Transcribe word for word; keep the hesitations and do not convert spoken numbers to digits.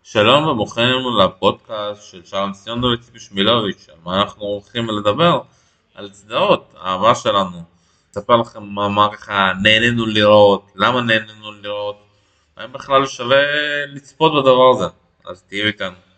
שלום וברוכים לפודקאסט של שלום ציון וציפי שמילוביץ', על מה אנחנו הולכים לדבר? על סדרות, האהבה שלנו. אספר לכם מה, מה ככה נהנינו לראות, למה נהנינו לראות, האם בכלל שווה לצפות בדבר הזה, אז תהיו איתנו.